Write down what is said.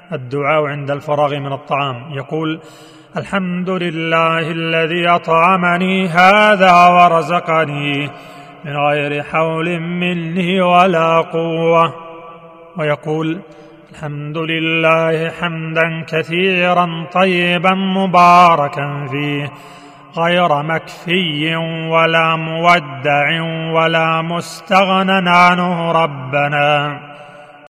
الدعاء عند الفراغ من الطعام، يقول: الحمد لله الذي أطعمني هذا ورزقني من غير حول مني ولا قوة. ويقول: الحمد لله حمدا كثيرا طيبا مباركا فيه غير مكفي ولا مودع ولا مستغنى عنه ربنا.